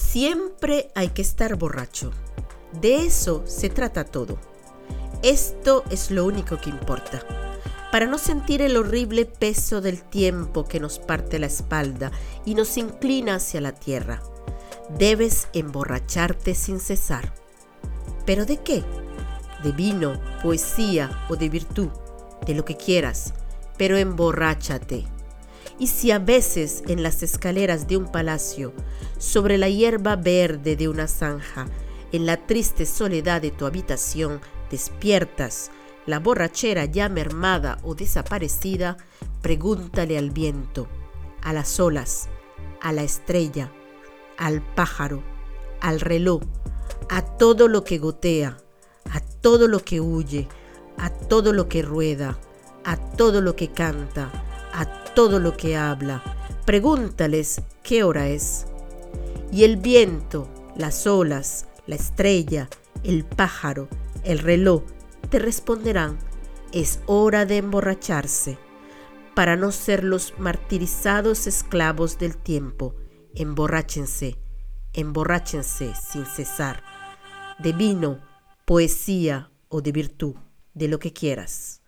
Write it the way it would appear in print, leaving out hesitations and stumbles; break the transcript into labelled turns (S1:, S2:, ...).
S1: Siempre hay que estar borracho. De eso se trata todo. Esto es lo único que importa. Para no sentir el horrible peso del tiempo que nos parte la espalda y nos inclina hacia la tierra, debes emborracharte sin cesar. ¿Pero de qué? De vino, poesía o de virtud, de lo que quieras, pero emborráchate. Y si a veces en las escaleras de un palacio, sobre la hierba verde de una zanja, en la triste soledad de tu habitación, despiertas, la borrachera ya mermada o desaparecida, pregúntale al viento, a las olas, a la estrella, al pájaro, al reloj, a todo lo que gotea, a todo lo que huye, a todo lo que rueda, a todo lo que canta, a todo lo que habla. Pregúntales qué hora es. Y el viento, las olas, la estrella, el pájaro, el reloj, te responderán: es hora de emborracharse, para no ser los martirizados esclavos del tiempo. Emborráchense, emborráchense sin cesar, de vino, poesía o de virtud, de lo que quieras.